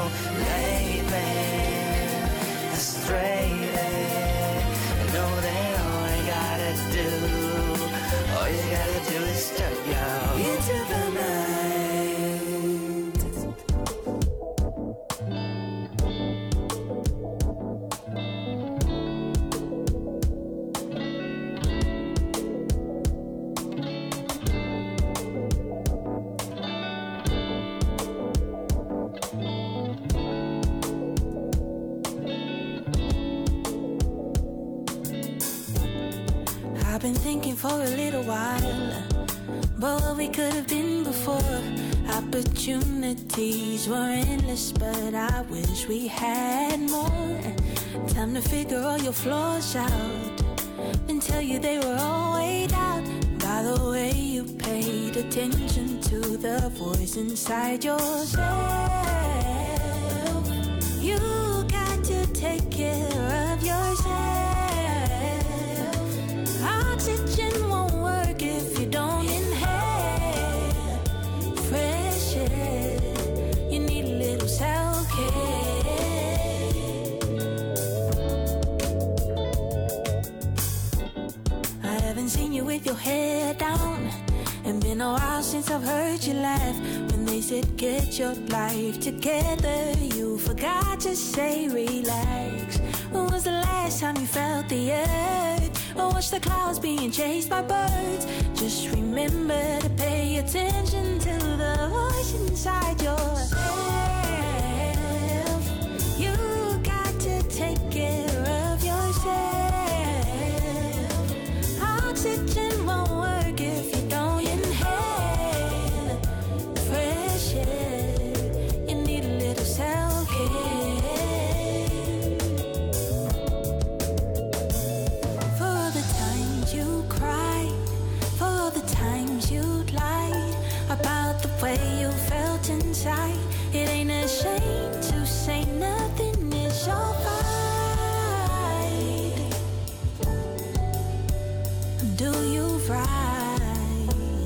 late man, frustrated. I know that all you gotta do is step out into the night. I've been thinking for a little while about what we could have been before. Opportunities were endless, but I wish we had more. Time to figure all your flaws out and tell you they were all weighed out by the way you paid attention to the voice inside yourself. You got to take care of yourself. Oxygen won't work if you don't inhale fresh air. You need a little self-care. I haven't seen you with your head down, and been a while since I've heard you laugh. When they said get your life together, you forgot to say relax. When was the last time you felt the earth or watched the clouds being chased by birds? Just remember to pay attention to the voice inside yourself. You got to take care of yourself. Oxygen won't work if you don't inhale fresh air. You need a little self-care. About the way you felt inside. It ain't a shame to say nothing is alright. Do you right?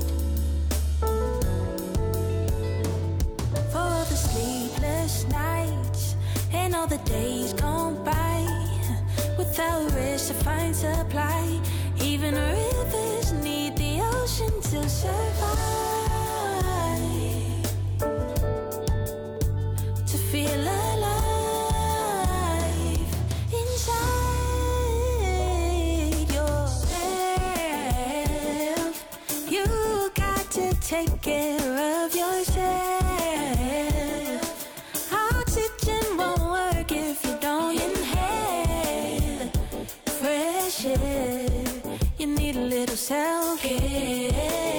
For the sleepless nights and all the days gone by without rest to find supply. Even rivers need the ocean to survive. Feel alive inside yourself. You got to take care of yourself. Oxygen won't work if you don't inhale fresh air. You need a little self-care.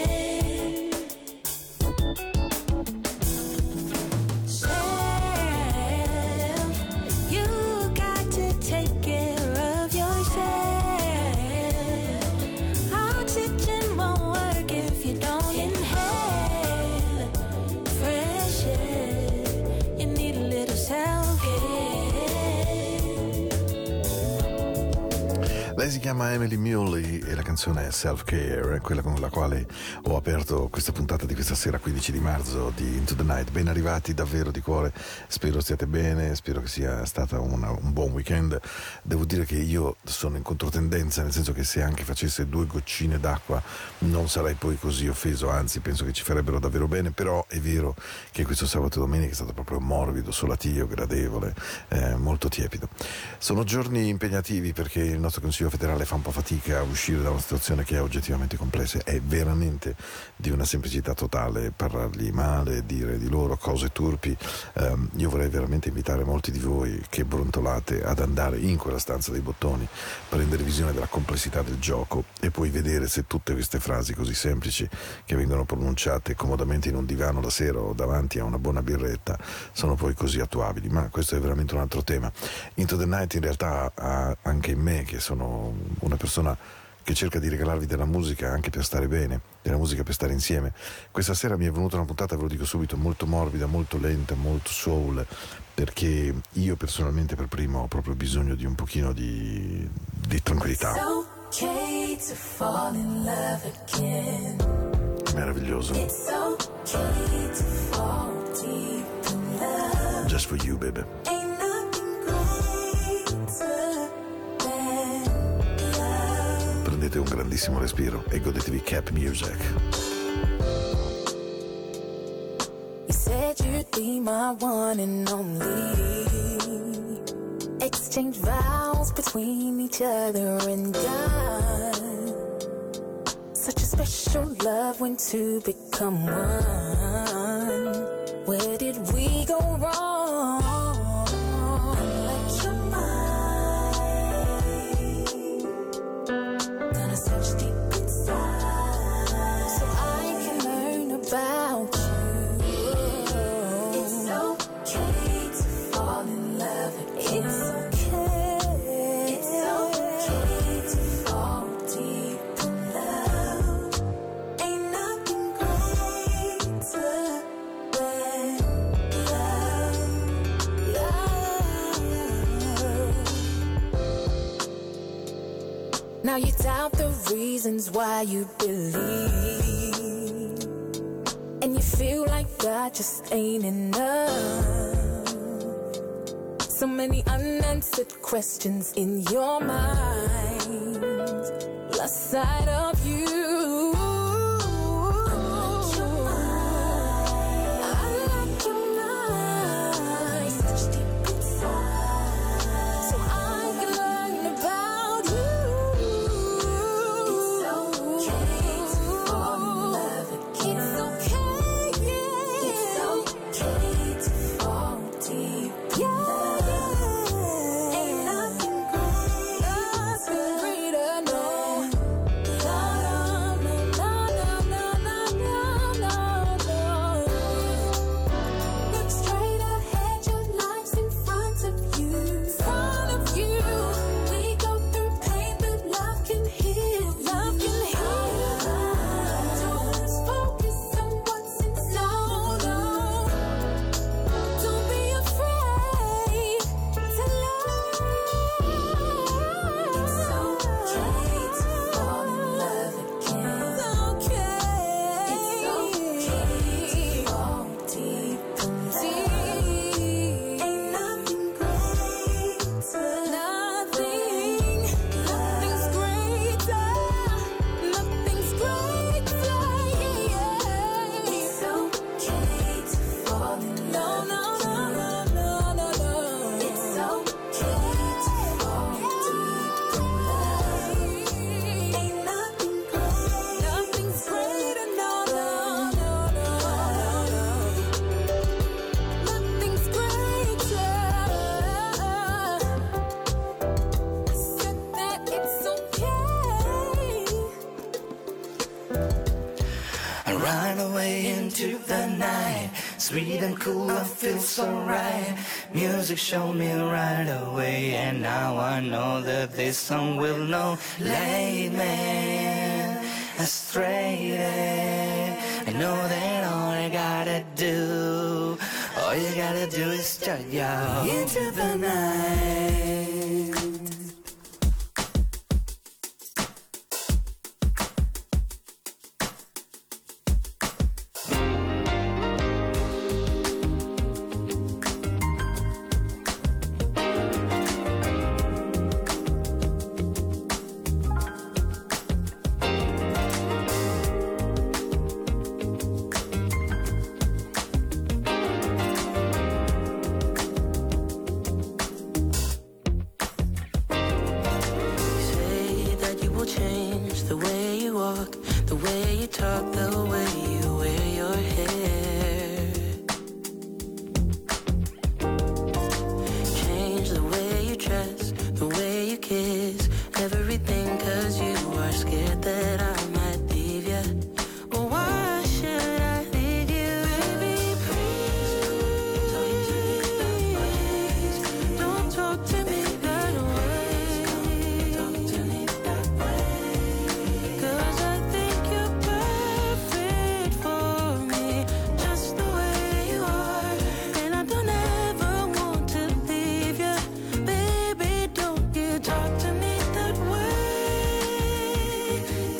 Lei si chiama Emily Muley e la canzone è Self Care, quella con la quale ho aperto questa puntata di questa sera 15 di marzo di Into the Night. Ben arrivati davvero di cuore, spero stiate bene, spero che sia stata un buon weekend. Devo dire che io sono in controtendenza, nel senso che se anche facesse 2 goccine d'acqua non sarei poi così offeso, anzi penso che ci farebbero davvero bene. Però è vero che questo sabato e domenica è stato proprio morbido, solatio, gradevole, molto tiepido. Sono giorni impegnativi perché il nostro Consiglio federale fa un po' fatica a uscire da una situazione che è oggettivamente complessa. È veramente di una semplicità totale parlargli male, dire di loro cose turpi. Io vorrei veramente invitare molti di voi che brontolate ad andare in quella stanza dei bottoni, prendere visione della complessità del gioco e poi vedere se tutte queste frasi così semplici che vengono pronunciate comodamente in un divano la sera o davanti a una buona birretta sono poi così attuabili. Ma questo è veramente un altro tema. Into the Night in realtà ha anche in me, che sono una persona che cerca di regalarvi della musica anche per stare bene, della musica per stare insieme. Questa sera mi è venuta una puntata, ve lo dico subito, molto morbida, molto lenta, molto soul, perché io personalmente per primo ho proprio bisogno di un pochino di tranquillità. Okay to fall in love again. Meraviglioso. It's okay to fall deep in love. just for you, baby. Ain't nothing greater than love. Prendete un grandissimo respiro e godetevi Cap Music. You said you'd be my one and only. Exchange vows between each other and I. Such a special love when two become one. Where did we go wrong? Like your mind, gonna search deep inside so I can learn about you. It's okay to fall in love again. It's okay. It's okay to fall deep in love. Ain't nothing greater than love. Now you doubt the reasons why you believe, and you feel like God just ain't enough. So many unanswered questions in your mind, lost sight of you. Unlock your mind, search deep inside so I can learn about you. It's okay to fall in love again. It's okay, yeah. It's okay to fall deep in love. Ain't nothing greater, no. No, no, no, no, no, no, no, no. Look straight ahead, your life's in front of you. Front of you. We go through pain, but love can heal. Love can heal. Don't lose focus on what's inside. No, don't be afraid to love. It's okay to fall in love again. It's okay. It's okay to fall deep in love. Ain't nothing greater. Nothing's greater. Nothing's greater. Yeah. It's okay to fall in love. No, no, no, no, no, no. It's okay to fall deep in love. Ain't nothing greater. Nothing's greater. No, no, no, no, no. Nothing's greater. Said that it's okay. I run away into the night, sweet and cool, I feel so right. Music showed me right away, and now I know that this song will know. Lead me astray. I know that all you gotta do is turn you into the night. Say that you will change the way you walk, the way you talk, the way you wear your hair. Change the way you dress, the way you kiss, everything, 'cause you are scared that I might leave you. Well, why should I leave you? Baby, please don't talk to me that way. Talk to me that way. 'Cause I think you're perfect for me, just the way you are. And I don't ever want to leave you. Baby, don't you talk to me that way.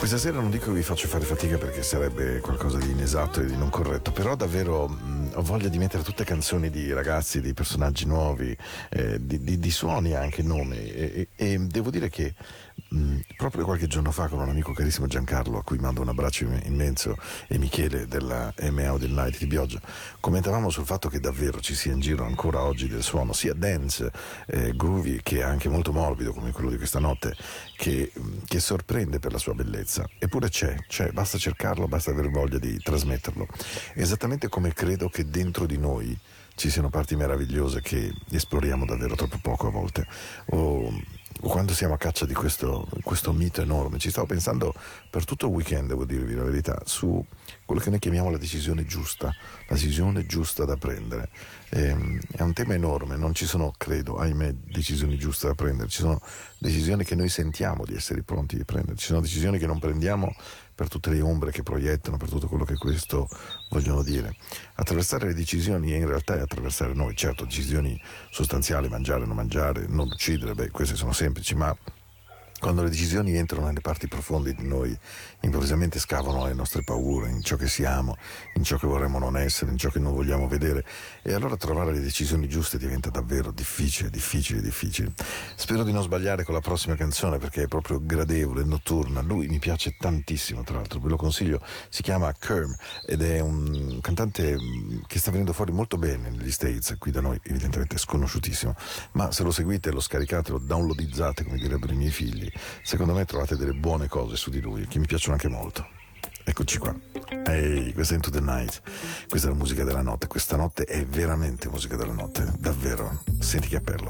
Questa sera non dico che vi faccio fare fatica perché sarebbe qualcosa di inesatto e di non corretto, però davvero ho voglia di mettere tutte canzoni di ragazzi, di personaggi nuovi, di suoni anche, nomi, e devo dire che proprio qualche giorno fa con un amico carissimo Giancarlo, a cui mando un abbraccio immenso, e Michele della M Audio Night di Bioggia, commentavamo sul fatto che davvero ci sia in giro ancora oggi del suono sia dance, groovy, che anche molto morbido come quello di questa notte, che sorprende per la sua bellezza. Eppure c'è, basta cercarlo, basta avere voglia di trasmetterlo, esattamente come credo che dentro di noi ci siano parti meravigliose che esploriamo davvero troppo poco a volte, o quando siamo a caccia di questo mito enorme. Ci stavo pensando per tutto il weekend, devo dirvi la verità, su quello che noi chiamiamo la decisione giusta da prendere. È un tema enorme, non ci sono, credo, ahimè, decisioni giuste da prendere, ci sono decisioni che noi sentiamo di essere pronti di prendere, ci sono decisioni che non prendiamo per tutte le ombre che proiettano, per tutto quello che questo vogliono dire. Attraversare le decisioni in realtà è attraversare noi, certo, decisioni sostanziali, mangiare, non mangiare, non uccidere, queste sono semplici, ma quando le decisioni entrano nelle parti profonde di noi, improvvisamente scavano le nostre paure, in ciò che siamo, in ciò che vorremmo non essere, in ciò che non vogliamo vedere, e allora trovare le decisioni giuste diventa davvero difficile. Spero di non sbagliare con la prossima canzone perché è proprio gradevole, notturna. Lui mi piace tantissimo, tra l'altro, ve lo consiglio, si chiama Kerm ed è un cantante che sta venendo fuori molto bene negli States, qui da noi evidentemente è sconosciutissimo, ma se lo seguite, lo scaricate, lo downloadizzate, come direbbero i miei figli, secondo me trovate delle buone cose su di lui che mi piacciono anche molto. Eccoci qua. Ehi, questa è Into the Night, questa è la musica della notte, questa notte è veramente musica della notte, davvero. Senti che appello.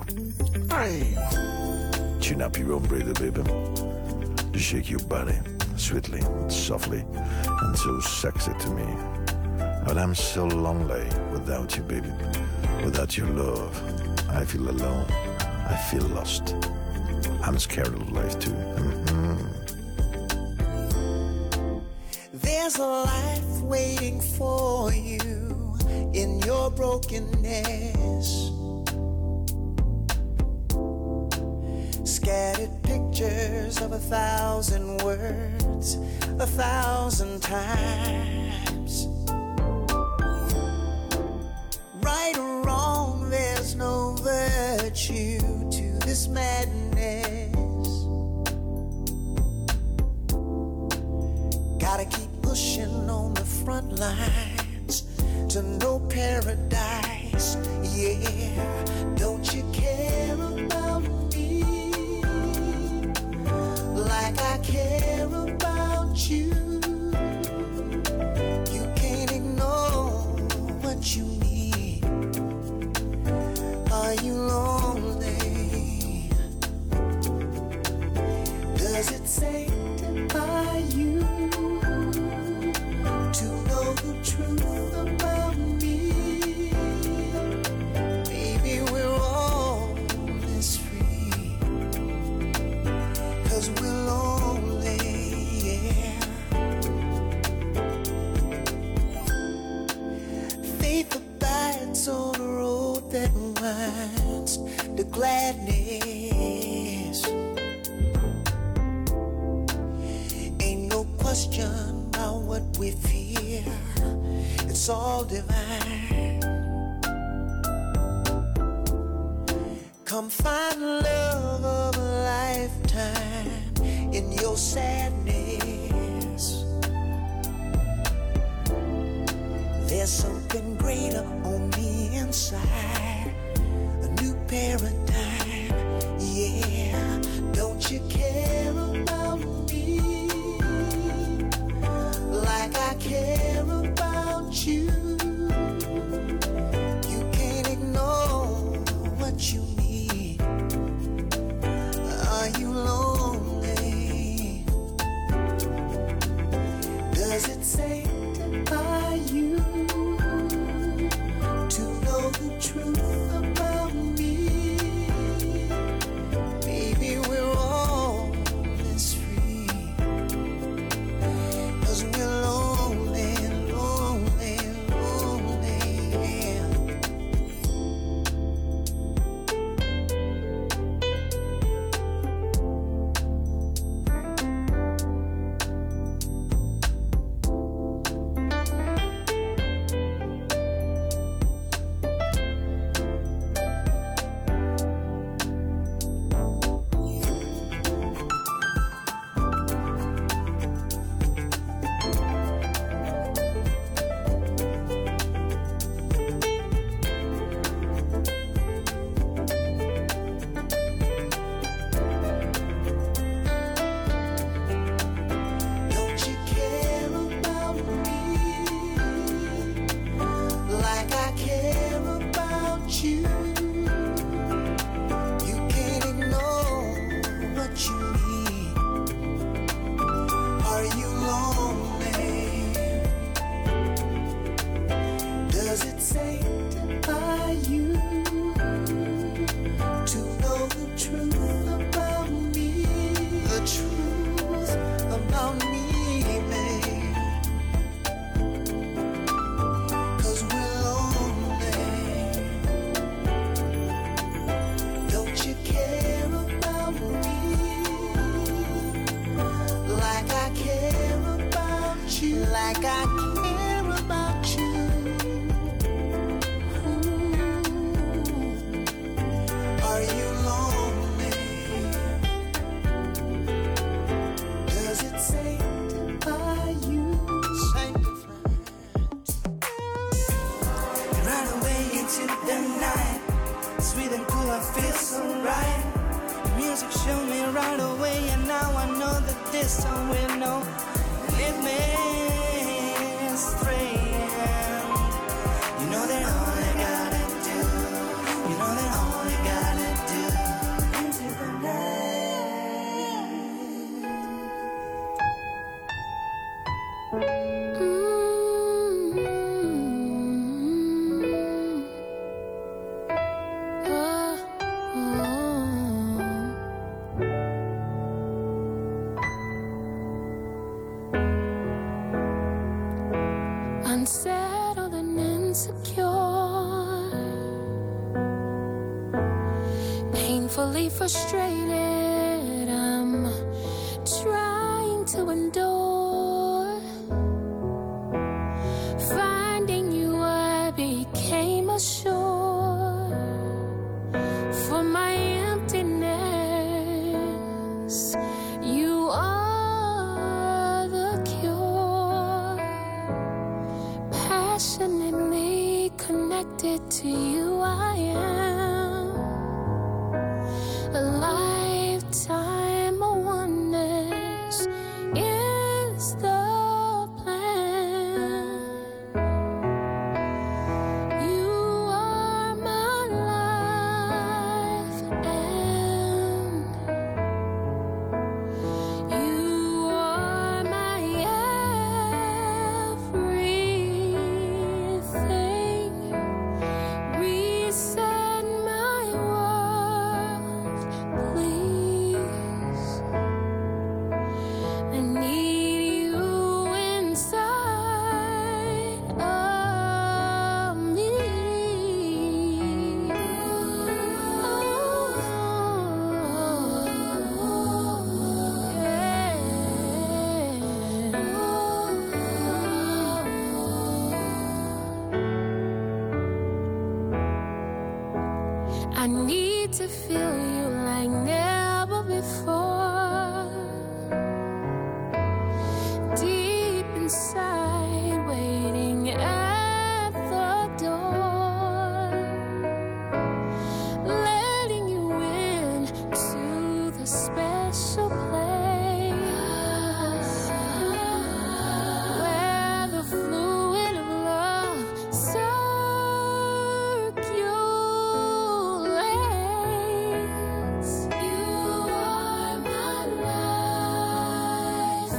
Chin up your own breather, baby. Just shake your body sweetly, softly, and so sexy to me. But I'm so lonely without you, baby. Without your love, I feel alone, I feel lost. I'm scared of life too. There's a life waiting for you in your brokenness. Scattered pictures of 1,000 words, 1,000 times. Right or wrong, there's no virtue to this madness. Gotta keep pushing on the front lines to know paradise. Yeah, don't you care about me like I care about you? You can't ignore what you need. Are you lonely? Does it sanctify you to know the truth about me? Maybe we're all this free, 'cause we're lonely, yeah. Faith abides on the road that winds to gladness. Ain't no question about what we fear, it's all divine. Come find the love of a lifetime in your sadness. There's something greater on the inside, a new paradigm, yeah. Don't you care about me like I care about you? You can't ignore what you need. Are you lonely? Does it sanctify you to know the truth about me? sweet and cool, I feel so right. Music showed me right away, and now I know that this song will know. Lead me astray. You know that all I gotta do, you know that all I gotta do into the unsettled and insecure, painfully frustrated, I'm trying to endure. Finding you, I became a shore for my emptiness. You are the cure. Passionately connected to you, I am. A lifetime of oneness is the plan. You are my life, and you are my everything. Reset my world, please. I need you inside of me. I need to feel you like never before. Deep inside, waiting at the door, letting you in to the special place where the fluid of love circulates. You are my life,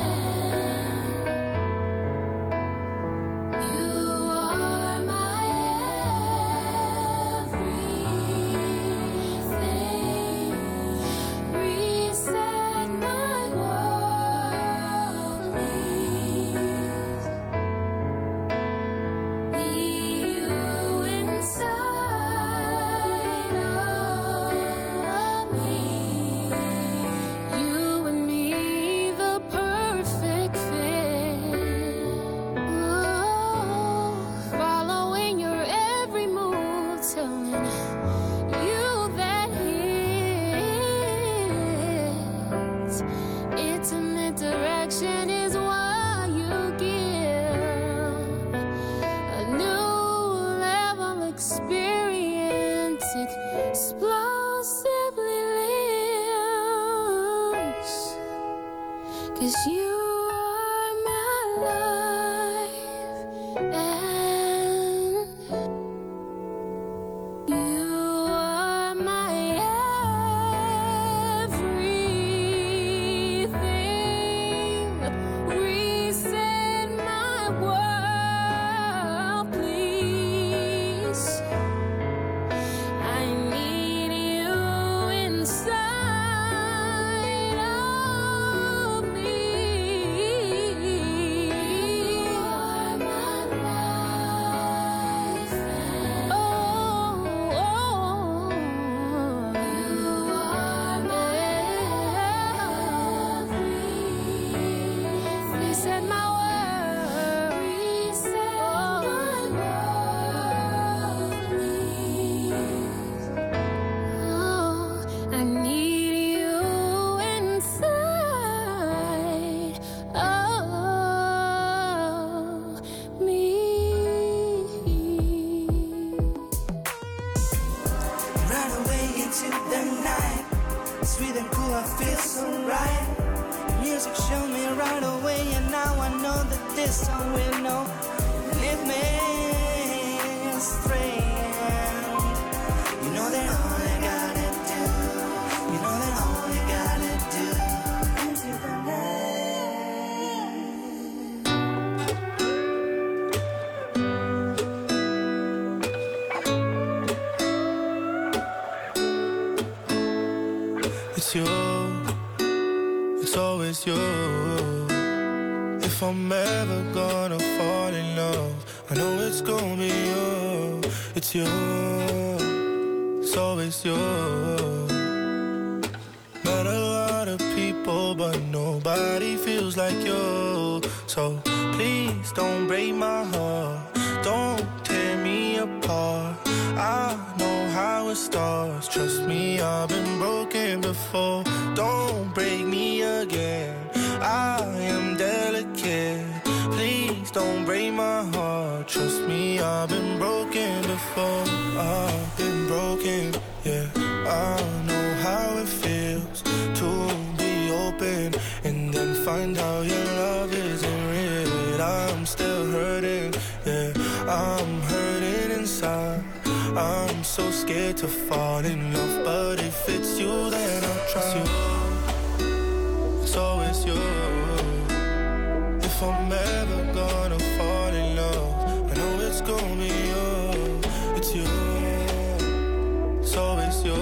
and you are my everything. Reset my world, please. Need you inside of me. You and me, the perfect fit. Oh, following your every move, telling you that hits. Intimate direction is what you give. A new level experience, explosively lives. 'Cause you are my life, and you are my everything. Reset my world, please. I need you inside of me. into the night. Sweet and cool, I feel so right. Music showed me right away, and now I know that this song will know. Lead me astray. You know that all I gotta do, you know that all I gotta do into the night. It's you, it's always you. If I'm ever gonna fall in love, I know it's gonna be you. It's you, it's always you. Met a lot of people, but nobody feels like you. So please don't break my heart, don't tear me apart. I know how it starts, trust me, I've been broken before. Don't break me again, I am delicate. Please don't break my heart, trust me, I've been broken before. I've been broken, yeah. I know how it feels to be open and then find out your love isn't real. I'm still hurting, yeah. I'm hurting inside. I'm so scared to fall in love, but if it's you, then I'll try. It's always you. If I'm ever gonna fall in love, I know it's gonna be you. It's you. It's always you.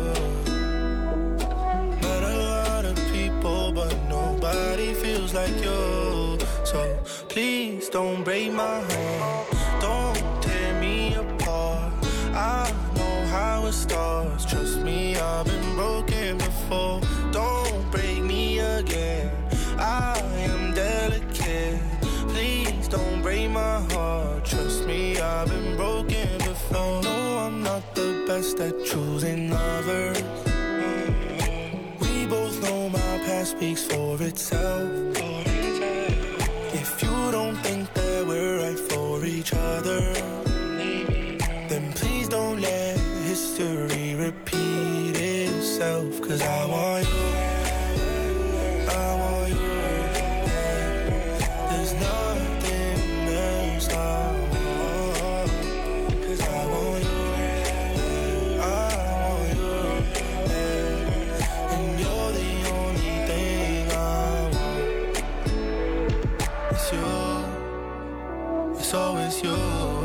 Met a lot of people, but nobody feels like you. So please don't break my heart, don't tear me apart. I know how it starts, trust me, I've been broken before. Don't break me again, I am delicate. Please don't break my heart, trust me, I've been broken before. No, I'm not the best at choosing lovers. We both know my past speaks for itself. If you don't think that we're right for each other, then please don't let history repeat itself. Cause I want you, I want you. There's nothing else I want. Cause I want you, I want you. And you're the only thing I want. It's you, it's always you.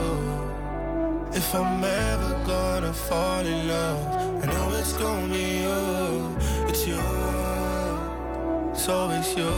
If I'm ever gonna fall in love, I know it's gonna be you. It's you, it's always you.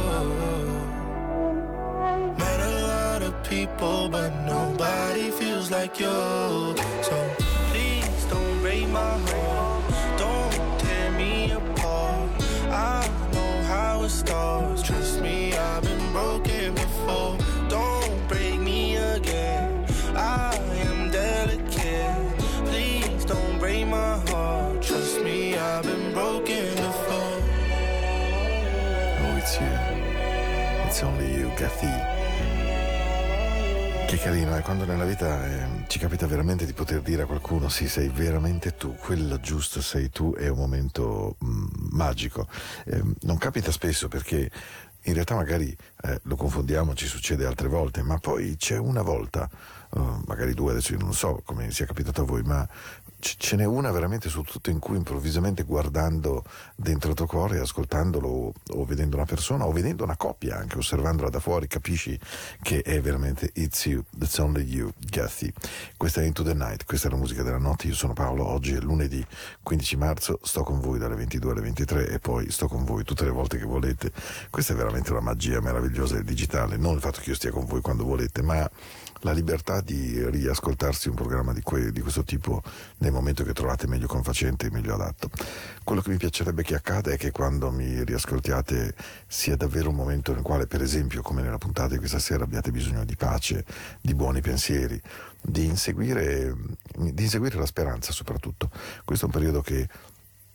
Met a lot of people, but nobody feels like you. So please don't break my heart, don't tear me apart. I know how it starts, trust me, I've been broken before. Don't break me again, I am delicate. Please don't break my heart, trust me, I've been broken before. Oh, it's you. It's only you, Cathy. Che carino, quando nella vita ci capita veramente di poter dire a qualcuno sì, sei veramente tu, quello giusto sei tu, è un momento magico. Non capita spesso perché in realtà magari lo confondiamo, ci succede altre volte, ma poi c'è una volta, magari due, adesso io non so come sia capitato a voi, ma ce n'è una veramente su tutto in cui improvvisamente guardando dentro il tuo cuore, ascoltandolo o vedendo una persona o vedendo una coppia, anche osservandola da fuori, capisci che è veramente It's You, That's Only You, Cathy. Questa è Into the Night, questa è la musica della notte. Io sono Paolo, oggi è lunedì 15 marzo, sto con voi dalle 22 alle 23 e poi sto con voi tutte le volte che volete. Questa è veramente una magia meravigliosa del digitale, non il fatto che io stia con voi quando volete, ma la libertà di riascoltarsi un programma di questo tipo nel momento che trovate meglio confacente e meglio adatto. Quello che mi piacerebbe che accada è che quando mi riascoltiate sia davvero un momento nel quale, per esempio, come nella puntata di questa sera, abbiate bisogno di pace, di buoni pensieri, di inseguire la speranza soprattutto. Questo è un periodo che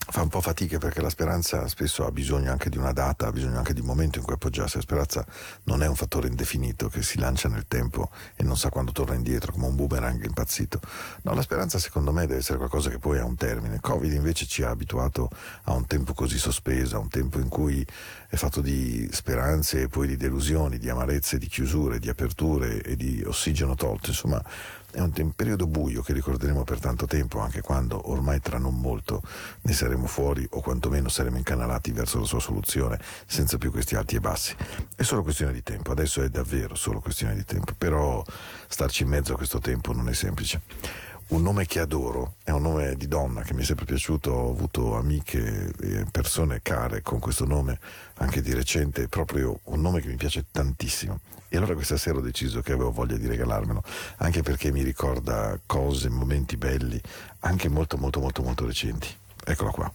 fa un po' fatica, perché la speranza spesso ha bisogno anche di una data, ha bisogno anche di un momento in cui appoggiarsi. La speranza non è un fattore indefinito che si lancia nel tempo e non sa quando torna indietro, come un boomerang impazzito. No, la speranza secondo me deve essere qualcosa che poi ha un termine. Covid invece ci ha abituato a un tempo così sospeso, a un tempo in cui è fatto di speranze e poi di delusioni, di amarezze, di chiusure, di aperture e di ossigeno tolto. Insomma, è un periodo buio che ricorderemo per tanto tempo, anche quando ormai tra non molto ne saremo fuori, o quantomeno saremo incanalati verso la sua soluzione senza più questi alti e bassi. È solo questione di tempo, adesso è davvero solo questione di tempo, però starci in mezzo a questo tempo non è semplice. Un nome che adoro, è un nome di donna che mi è sempre piaciuto, ho avuto amiche e persone care con questo nome anche di recente, è proprio un nome che mi piace tantissimo. E allora questa sera ho deciso che avevo voglia di regalarmelo, anche perché mi ricorda cose, momenti belli, anche molto molto molto molto recenti. Eccola qua.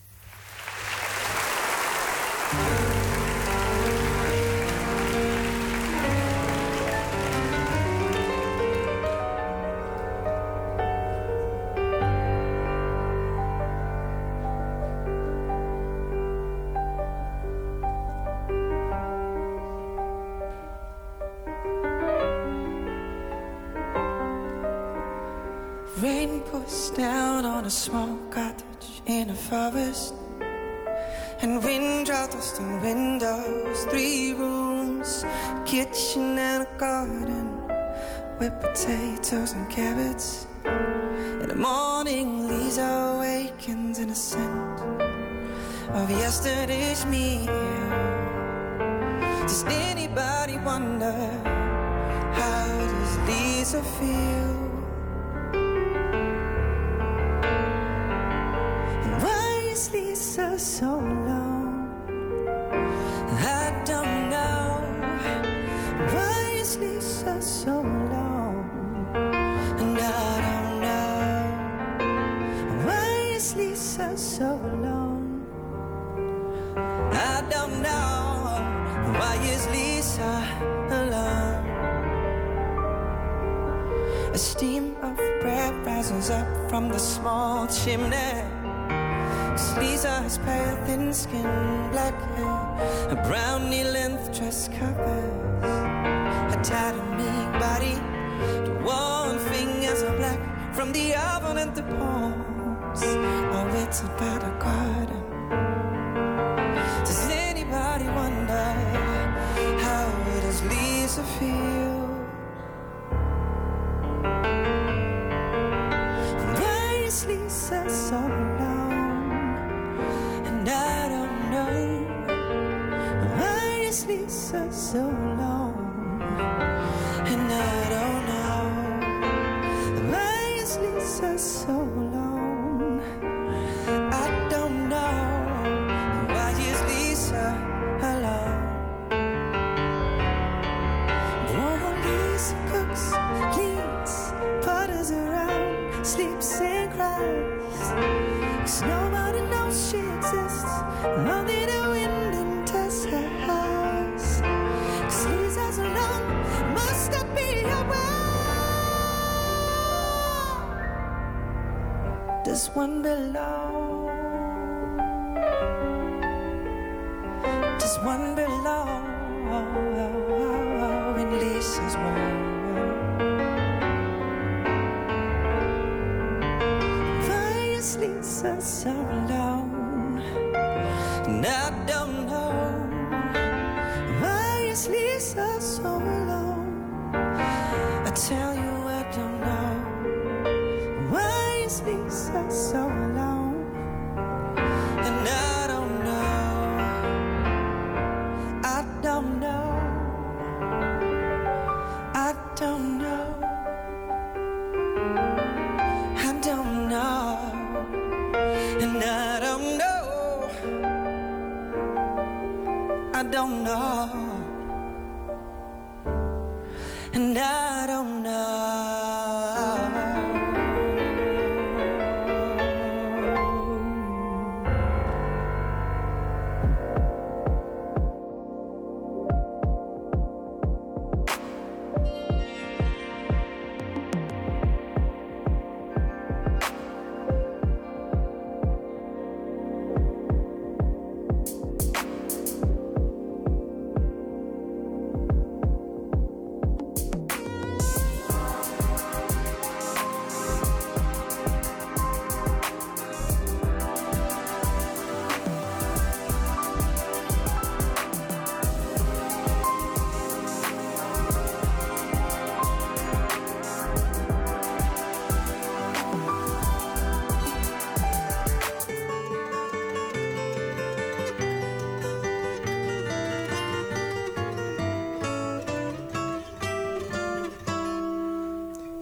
Rain pours down on a small cottage in a forest, and wind rattles through windows. 3 rooms, kitchen and a garden with potatoes and carrots. In the morning, Lisa awakens in a scent of yesterday's meal. Does anybody wonder, how does Lisa feel? Lisa so alone? I don't know. Why is Lisa so alone? And I don't know. Why is Lisa so alone? I don't know. Why is Lisa alone? A steam of bread rises up from the small chimney. Lisa has pale, thin skin, black hair, a brown knee-length dress covers her tattered meek body. The warm fingers are black from the oven and the palms are waited by the garden. Does anybody wonder, how does Lisa feel? Why is Lisa so alone? I don't know. Why is Lisa so alone? And I don't know. Why is Lisa so alone? I don't know. Why is Lisa alone? Oh, Lisa cooks, cleans, putters around, sleeps and cries. 'Cause nobody knows she exists. Only the wind enters her house. 'Cause Lisa's alone, must not be aware. Does one belong? Does one belong in Lisa's world? Lisa so alone, and I don't know. Why is Lisa so alone? I tell you I don't know. Why is Lisa so alone? And I don't know. I don't know. I don't know. I don't know. And I don't know. I don't know. And I don't know.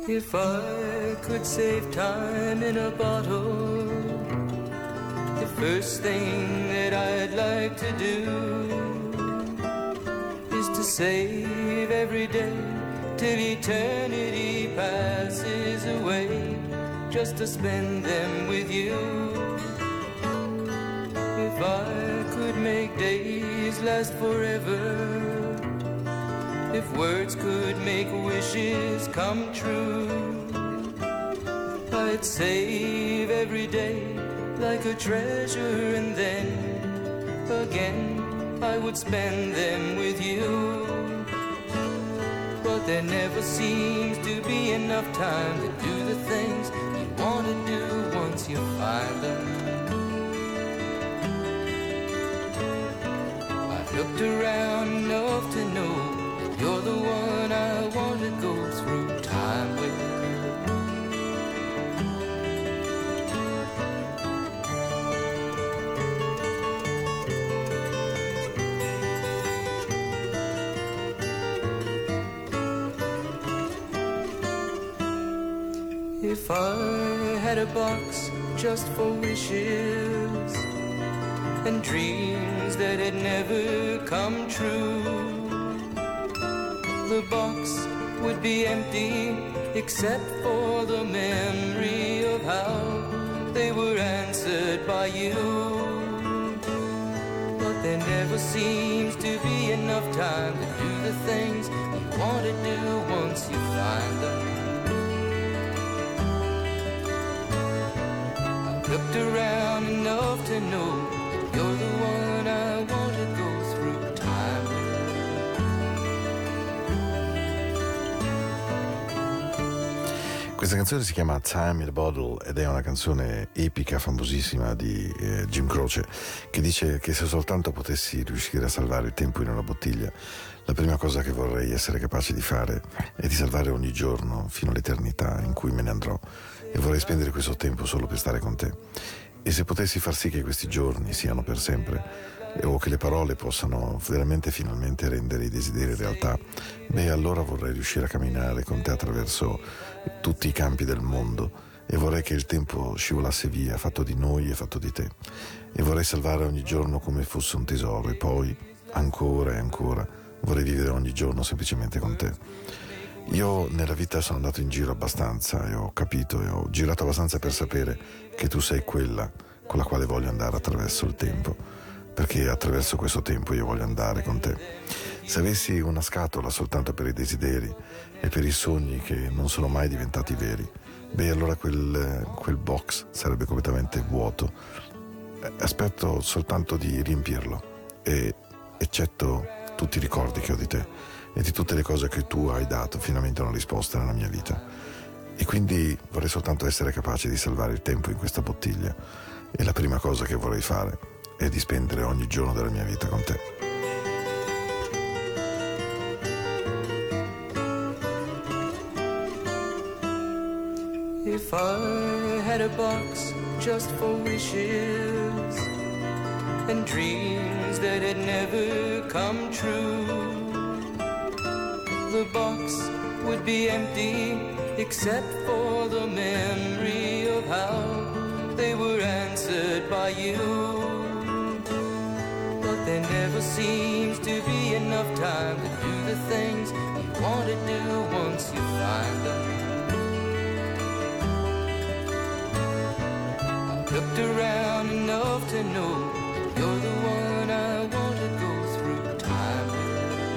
If I could save time in a bottle, the first thing that I'd like to do is to save every day till eternity passes away, just to spend them with you. If I could make days last forever, if words could make wishes come true, I'd save every day like a treasure, and then again I would spend them with you. But there never seems to be enough time to do the things you want to do once you find them. I've looked around enough to know you're the one I want to go through time with. If I had a box just for wishes and dreams that had never come true, the box would be empty except for the memory of how they were answered by you. But there never seems to be enough time to do the things you want to do once you find them. I've looked around enough to know you're the one I want to go through time with. Questa canzone si chiama Time in a Bottle ed è una canzone epica, famosissima di Jim Croce, che dice che se soltanto potessi riuscire a salvare il tempo in una bottiglia, la prima cosa che vorrei essere capace di fare è di salvare ogni giorno fino all'eternità in cui me ne andrò, e vorrei spendere questo tempo solo per stare con te. E se potessi far sì che questi giorni siano per sempre, o che le parole possano veramente finalmente rendere i desideri realtà, beh, allora vorrei riuscire a camminare con te attraverso tutti i campi del mondo, e vorrei che il tempo scivolasse via, fatto di noi e fatto di te, e vorrei salvare ogni giorno come fosse un tesoro, e poi ancora e ancora vorrei vivere ogni giorno semplicemente con te. Io nella vita sono andato in giro abbastanza e ho capito e ho girato abbastanza per sapere che tu sei quella con la quale voglio andare attraverso il tempo, perché attraverso questo tempo io voglio andare con te. Se avessi una scatola soltanto per i desideri e per i sogni che non sono mai diventati veri, beh, allora quel box sarebbe completamente vuoto. Aspetto soltanto di riempirlo, e eccetto tutti i ricordi che ho di te e di tutte le cose che tu hai dato finalmente una risposta nella mia vita. E quindi vorrei soltanto essere capace di salvare il tempo in questa bottiglia, e la prima cosa che vorrei fare è di spendere ogni giorno della mia vita con te. If I had a box just for wishes and dreams that had never come true, the box would be empty except for the memory of how they were answered by you. But there never seems to be enough time to do the things you want to do once you find them. I've looked around enough to know you're the one I want to go through time with.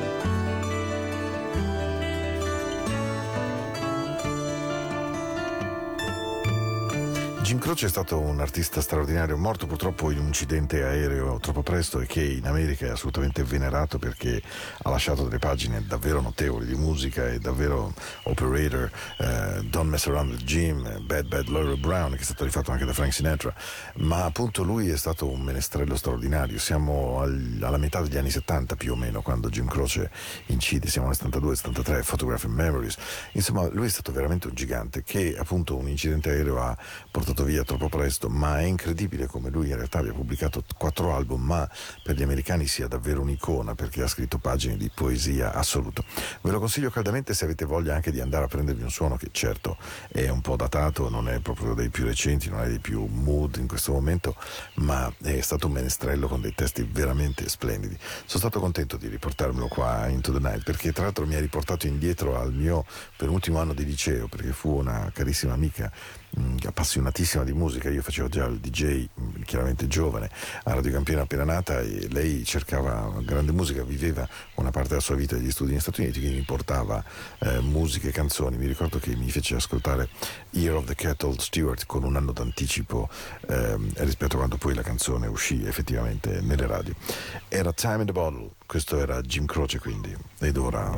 Jim Croce è stato un artista straordinario, morto purtroppo in un incidente aereo troppo presto, e che in America è assolutamente venerato perché ha lasciato delle pagine davvero notevoli di musica, e davvero Operator, Don't Mess Around with Jim, Bad Bad Laura Brown, che è stato rifatto anche da Frank Sinatra. Ma appunto lui è stato un menestrello straordinario. Siamo alla metà degli anni 70 più o meno quando Jim Croce incide, siamo nel 72-73, Photographic Memories. Insomma, lui è stato veramente un gigante, che appunto un incidente aereo ha portato andato via troppo presto, ma è incredibile come lui in realtà abbia pubblicato 4 album, ma per gli americani sia davvero un'icona, perché ha scritto pagine di poesia assoluto. Ve lo consiglio caldamente se avete voglia anche di andare a prendervi un suono che certo è un po' datato, non è proprio dei più recenti, non è dei più mood in questo momento, ma è stato un menestrello con dei testi veramente splendidi. Sono stato contento di riportarmelo qua Into the Night, perché tra l'altro mi ha riportato indietro al mio penultimo anno di liceo, perché fu una carissima amica appassionatissima di musica. Io facevo già il DJ chiaramente giovane a Radio Campione appena nata, e lei cercava grande musica, viveva una parte della sua vita degli studi negli Stati Uniti, quindi mi portava musiche e canzoni. Mi ricordo che mi fece ascoltare Year of the Cattle Stewart con un anno d'anticipo rispetto a quando poi la canzone uscì effettivamente nelle radio. Era Time in the Bottle, questo era Jim Croce quindi, ed ora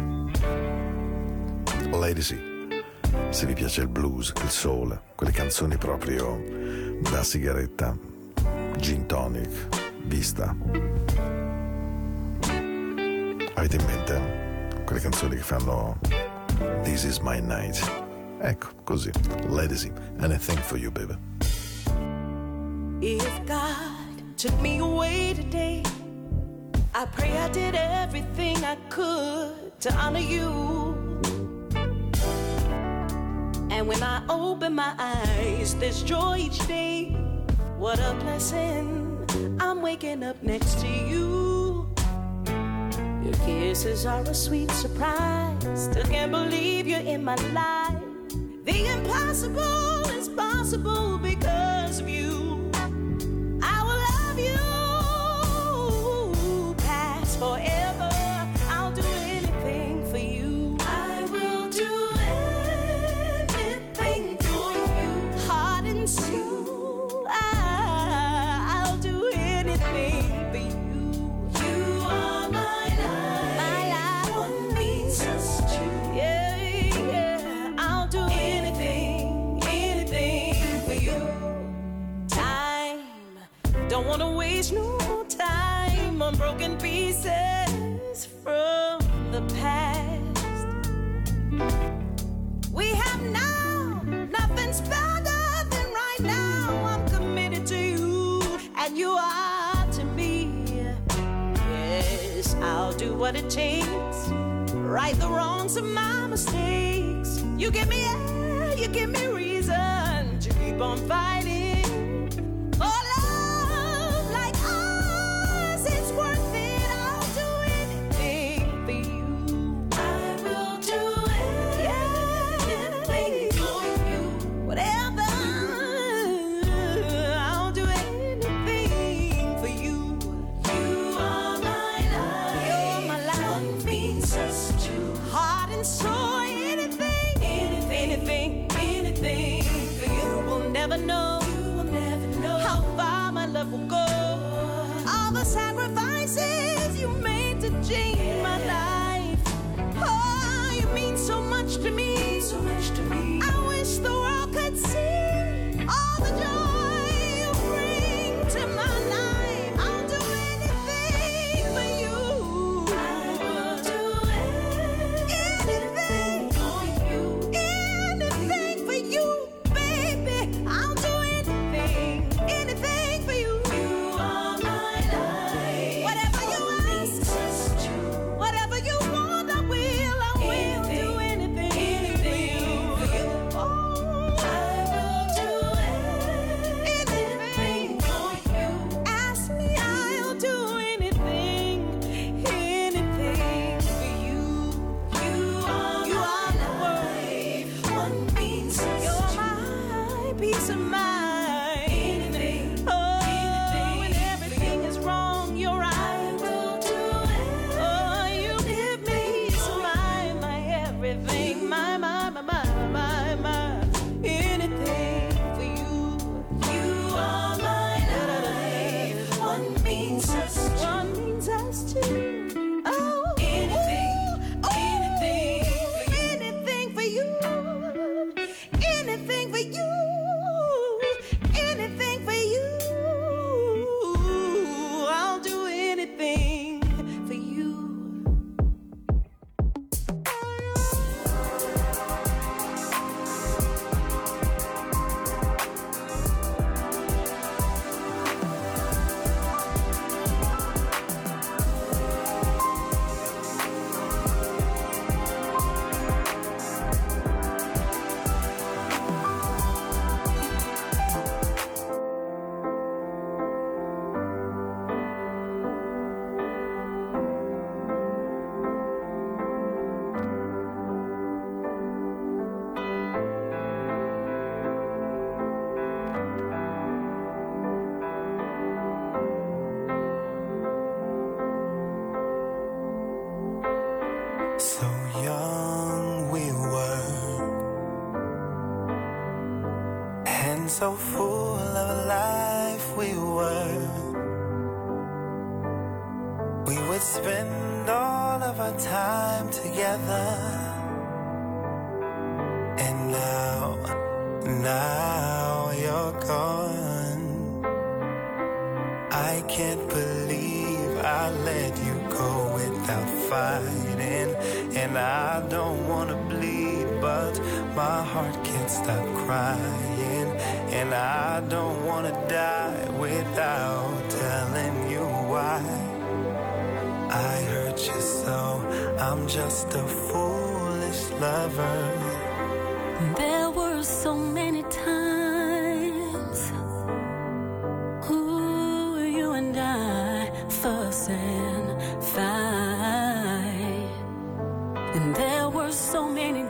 Lady C. Se vi piace il blues, il soul, quelle canzoni proprio da sigaretta, gin tonic, vista. Avete in mente quelle canzoni che fanno This is my night? Ecco, così. Lady C, anything for you, baby. If God took me away today, I pray I did everything I could to honor you. And when I open my eyes, there's joy each day. What a blessing, I'm waking up next to you. Your kisses are a sweet surprise. Still can't believe you're in my life. The impossible is possible because of you. I will love you past forever. I'll do anything for you. I will do anything for you. Heart and soul, I'll do anything for you. You are my life. My life, one means us two. Yeah, yeah. I'll do anything, anything for you. Time, don't wanna waste no time on broken pieces from the past. We have now, nothing's better than right now. I'm committed to you, and you are to me. Yes, I'll do what it takes, right the wrongs of my mistakes. You give me air, you give me reason to keep on fighting. Oh, love like ours, it's worth it. I'll do anything for you. I will do anything for you. Whatever, I'll do anything for you. You are my life. You're my life. One means us two. Heart and soul, anything, anything, anything for you. Will never know. You will never know how far my love will go. All the sacrifices you made to change my life. Oh, you mean so much to me. So much to me. I wish the world could see all the joy you bring to my life. I'll do anything for you. I will do anything for you. Anything for you, baby. I'll do anything, anything for you. You are my life. Whatever you ask, whatever you want, I will do anything, anything for you. Oh, I will do anything for you. Ask me, I'll do anything, anything for you. You are my life. One means you're my peace of mind. Oh, when everything is wrong, you're right. Oh, you give me peace of mind, my everything, my, anything for you. You are my life. One means us two. Oh, anything for you. Anything for you. Anything for you. I'll do anything for you. so full of life we were. We would spend all of our time together. And now you're gone. I can't believe I let you go without fighting. And I don't wanna bleed, but my heart can't stop crying. And I don't wanna die without telling you why. I hurt you so, I'm just a foolish lover. There were so many times, ooh, you and I fuss and fight. And there were so many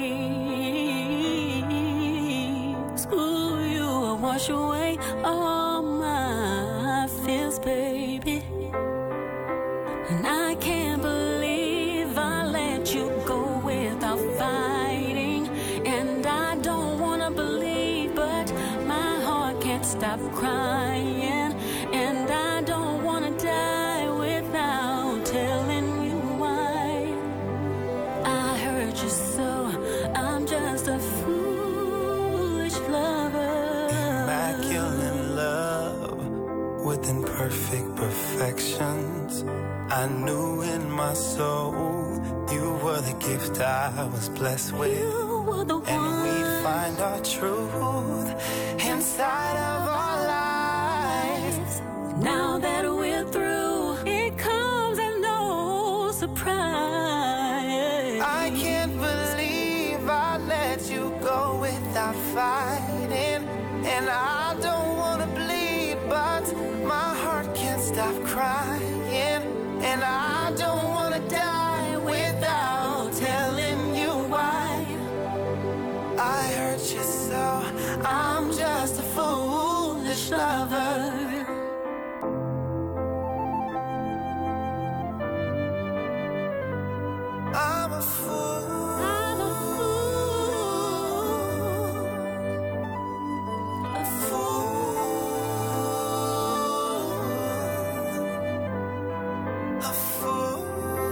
days, ooh, you will wash away all my fears, baby. And I can't believe I let you go without fighting. And I don't wanna believe, but my heart can't stop crying. And I don't wanna die without telling you why. I hurt you so, I'm just a foolish lover. Immaculate love with imperfect perfections. I knew in my soul you were the gift I was blessed with. You were the And one. we'd find our truth inside of our lives. Now that we're through, it comes as no surprise. I can't believe I let you go without fighting. And I don't wanna bleed, but my heart can't stop crying. And I don't wanna die without telling you why. I hurt you so, I'm just a foolish lover. I'm a fool. I'm a fool. A fool. A fool.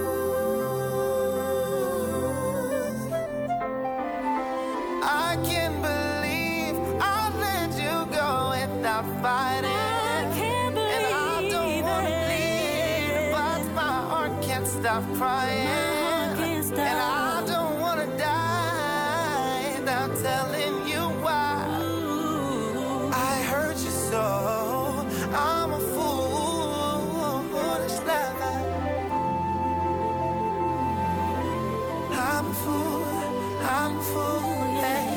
I can't believe I let you go without fighting. I can't believe And I don't wanna it. bleed, but my heart can't stop crying. My heart can't stop. And I don't wanna die without telling you why. Ooh. I hurt you so, I'm a foolish lover. I'm a fool, yeah.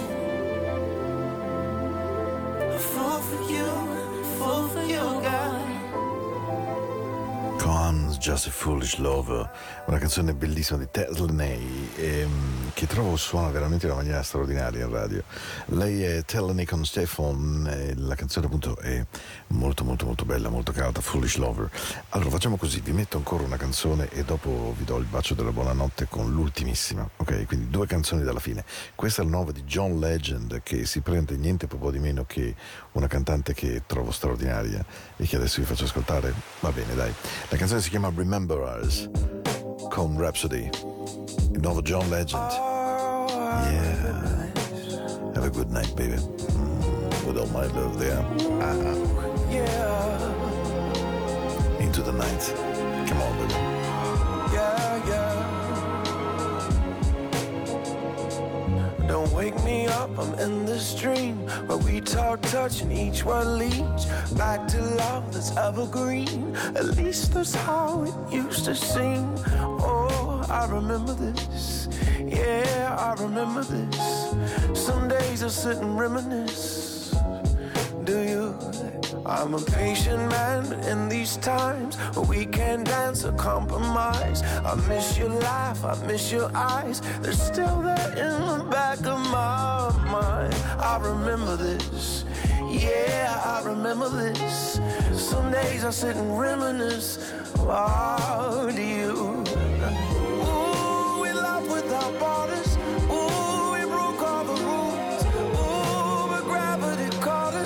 A fool for you, girl. Cohen's Just a Foolish Lover, una canzone bellissima di Tellenay che trovo suona veramente in una maniera straordinaria in radio. Lei è Tellenay con Stefan e la canzone appunto è molto molto molto bella, molto cauta, Foolish Lover. Allora facciamo così, vi metto ancora una canzone e dopo vi do il bacio della buonanotte con l'ultimissima, ok? Quindi 2 canzoni dalla fine. Questa è la nuova di John Legend, che si prende niente po' di meno che una cantante che trovo straordinaria e che adesso vi faccio ascoltare. Va bene, dai. La canzone si chiama Remember Us con Rhapsody, il nuovo John Legend. Yeah, have a good night, baby. With all my love there. Yeah, Into the night. Come on, baby. yeah. Don't wake me up, I'm in this dream where we talk, touching each word leads back to love that's evergreen. At least that's how it used to seem. Oh, I remember this. Yeah, I remember this. Some days I sit and reminisce. Do you? I'm a patient man, but in these times where we can't dance or compromise, I miss your laugh, I miss your eyes. They're still there in the back of my mind. I remember this. Yeah, I remember this. Some days I sit and reminisce. How do you? Ooh, we love without borders. Ooh, we broke all the rules. Ooh, but gravity caught us.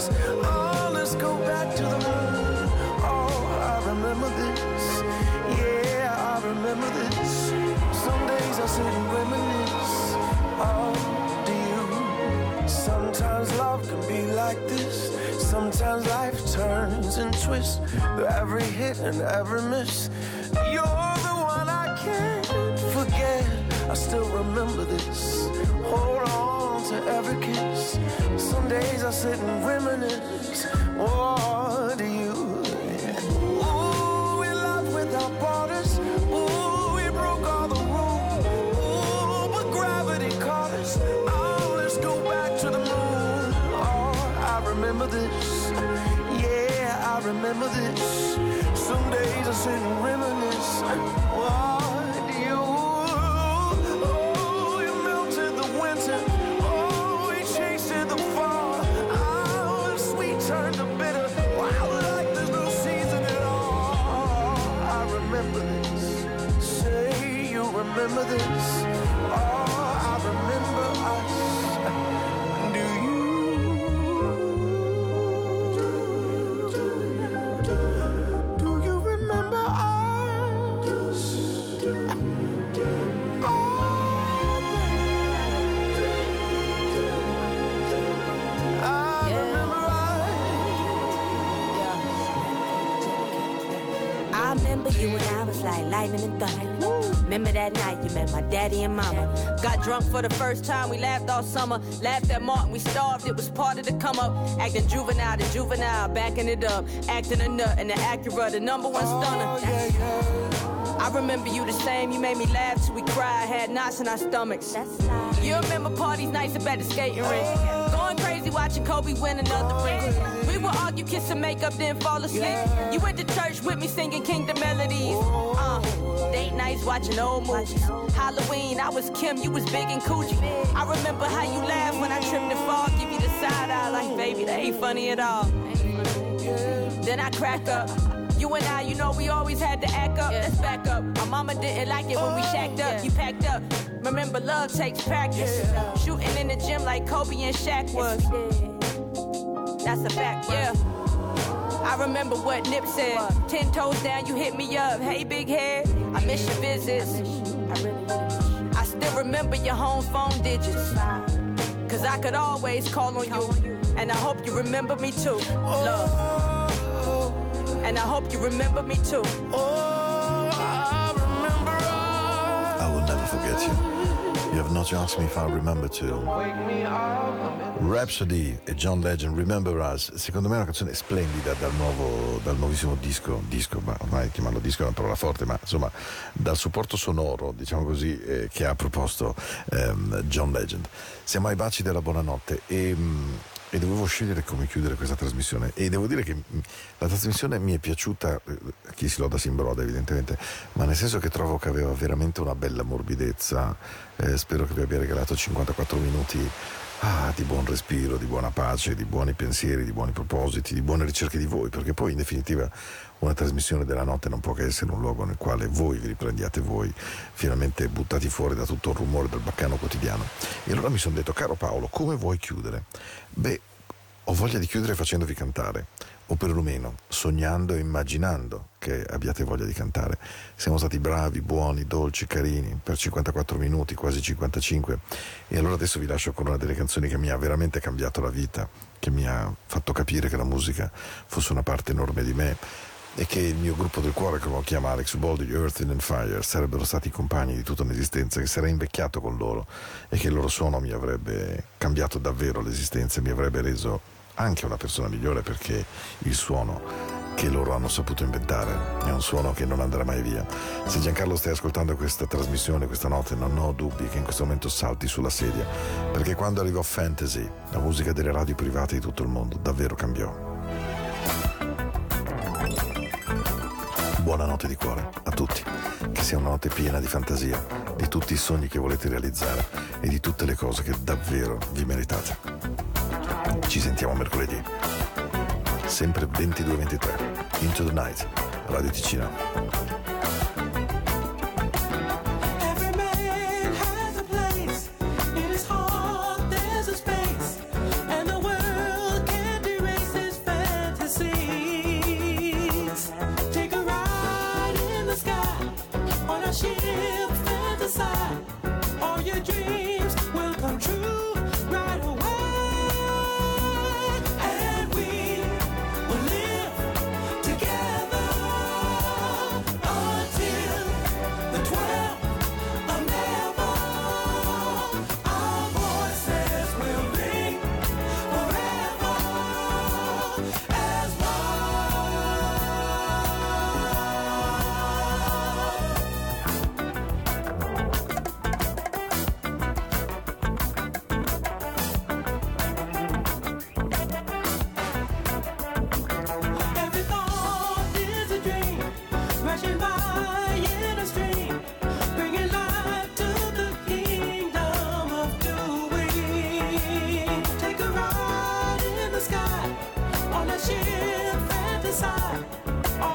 back to the moon. Oh, I remember this. Yeah, I remember this. Some days I sit and reminisce. Oh, do you? Sometimes love can be like this. Sometimes life turns and twists. Through every hit and every miss, you're the one I can't forget. I still remember this. Hold on to every kiss. Some days I sit and reminisce. What do you? Ooh, we love without borders. Ooh, we broke all the rules. Ooh, but gravity caught us. Oh, let's go back to the moon. Oh, I remember this. Yeah, I remember this. Some days I sit and reminisce. What do you? Oh, you melted the winter. Oh, you chased the fall. Oh, and sweet turned to bitter. Wow, like there's no season at all. I remember this. Say you remember this. Oh, I remember us. Do you? Do you remember us? I remember you when I was like lightning and thunder. Remember that night you met my daddy and mama. Got drunk for the first time, we laughed all summer. Laughed at Martin, we starved, it was part of the come up. Acting juvenile to juvenile, backing it up. Acting a nut and the Acura, the number one stunner. I remember you the same, you made me laugh till we cried. Had knots in our stomachs. You remember parties nights up at the skating rink. Going crazy watching Kobe win another ring. We would argue, kiss and make up, then fall asleep. You went to church with me singing Kingdom melodies. Date nights watching old movies. Halloween, I was Kim, you was Big and Coochie. I remember how you laughed when I tripped and fall. Give you the side eye like, baby, that ain't funny at all. Then I crack up. You and I, you know we always had to act up. Let's back up. My mama didn't like it when we shacked up. You packed up. Remember, love takes practice. Shooting in the gym like Kobe and Shaq was. That's a fact, yeah. I remember what Nip said. 10 toes down, you hit me up. Hey, big head, I miss your visits. I still remember your home phone digits. Cause I could always call on you. And I hope you remember me too. Love. And I hope you remember me too. I will never forget you. You have not asked me if I remember to. Rhapsody e John Legend, Remember Us. Secondo me è una canzone splendida dal nuovissimo disco, ma ormai chiamarlo disco è una parola forte, ma insomma dal supporto sonoro, diciamo così, che ha proposto John Legend. Siamo ai baci della buonanotte e dovevo scegliere come chiudere questa trasmissione e devo dire che la trasmissione mi è piaciuta, chi si loda si imbroda evidentemente, ma nel senso che trovo che aveva veramente una bella morbidezza. Spero che vi abbia regalato 54 minuti di buon respiro, di buona pace, di buoni pensieri, di buoni propositi, di buone ricerche di voi, perché poi in definitiva una trasmissione della notte non può che essere un luogo nel quale voi vi riprendiate voi, finalmente buttati fuori da tutto il rumore del baccano quotidiano. E allora mi sono detto, caro Paolo, come vuoi chiudere? Beh, ho voglia di chiudere facendovi cantare, o perlomeno sognando e immaginando che abbiate voglia di cantare. Siamo stati bravi, buoni, dolci, carini per 54 minuti, quasi 55, e allora adesso vi lascio con una delle canzoni che mi ha veramente cambiato la vita, che mi ha fatto capire che la musica fosse una parte enorme di me e che il mio gruppo del cuore, come lo chiama Alex Boldi, Earth, Wind and Fire, sarebbero stati i compagni di tutta un'esistenza, che sarei invecchiato con loro e che il loro suono mi avrebbe cambiato davvero l'esistenza e mi avrebbe reso anche una persona migliore, perché il suono che loro hanno saputo inventare è un suono che non andrà mai via. Se Giancarlo stai ascoltando questa trasmissione questa notte, non ho dubbi che in questo momento salti sulla sedia, perché quando arrivò Fantasy, la musica delle radio private di tutto il mondo davvero cambiò. Buonanotte di cuore a tutti, che sia una notte piena di fantasia, di tutti i sogni che volete realizzare e di tutte le cose che davvero vi meritate. Ci sentiamo mercoledì, sempre 22:23, Into the Night, Radio Ticino. Every man has a place. In his heart there's a space, and the world can't erase his fantasy.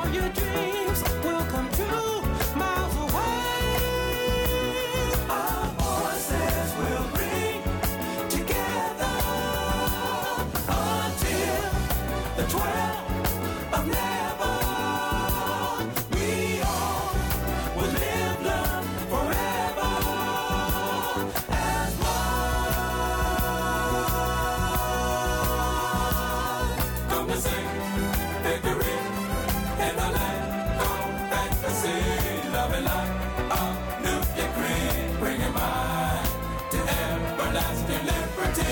your dreams will come true miles away. Our voices will ring together until the 12th of never. We all will live, love forever as one. Come to sing victory in the land of fantasy, loving like a new decree, bringing mine to everlasting liberty.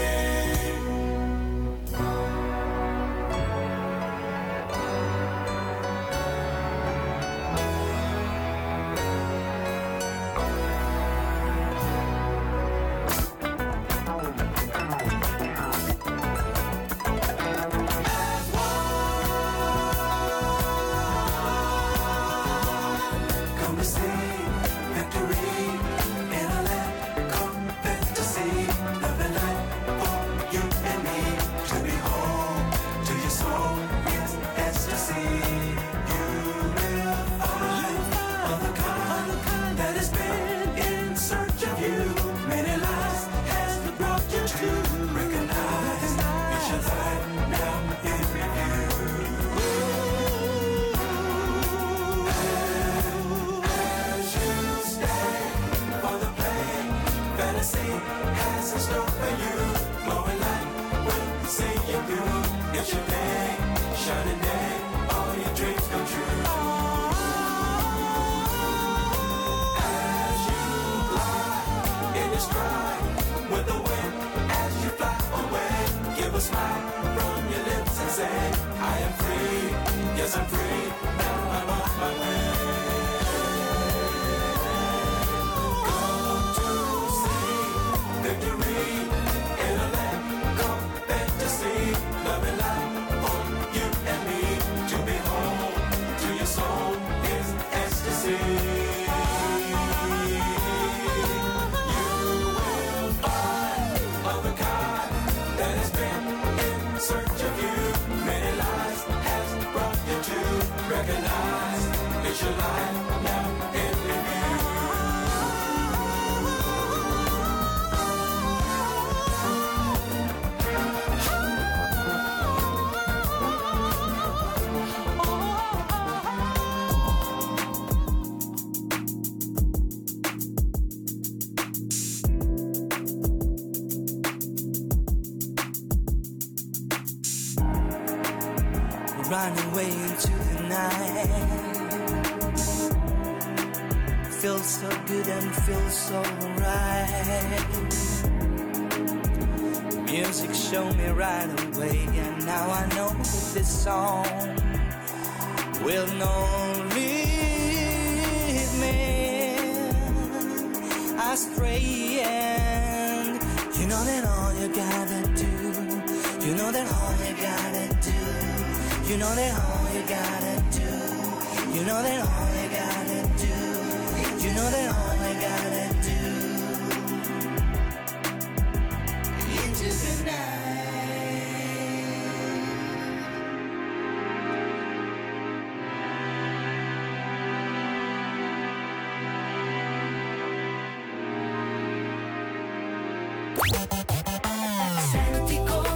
Come to see victory in a land called fantasy, loving life for you and me, to be home to your soul is ecstasy. You will find other kind that has been in search of you. Many lives has brought you to recognize it's your life now in review. As you stand for the play, fantasy has in store for you. Glowing light will see you through. It's your day, shining day, all your dreams come true. As you glide in your stride with the wind, as you fly away, give a smile from your lips and say, I am free, yes I'm free, now I'm on my way. Come to see victory in a land called fantasy, loving life for you and me, to be home to your soul is ecstasy. You will find other kind that has been in search of you. Many lives has brought you to recognize it's your life now in review. Running away into the night. Feels so good and feels so right. Music showed me right away, and now I know that this song will not lead me astray. And you know that all you gotta do, you know that all you gotta do, you know that all you gotta do, you know that all you gotta do, you know that all you gotta do. Into the night. Senti come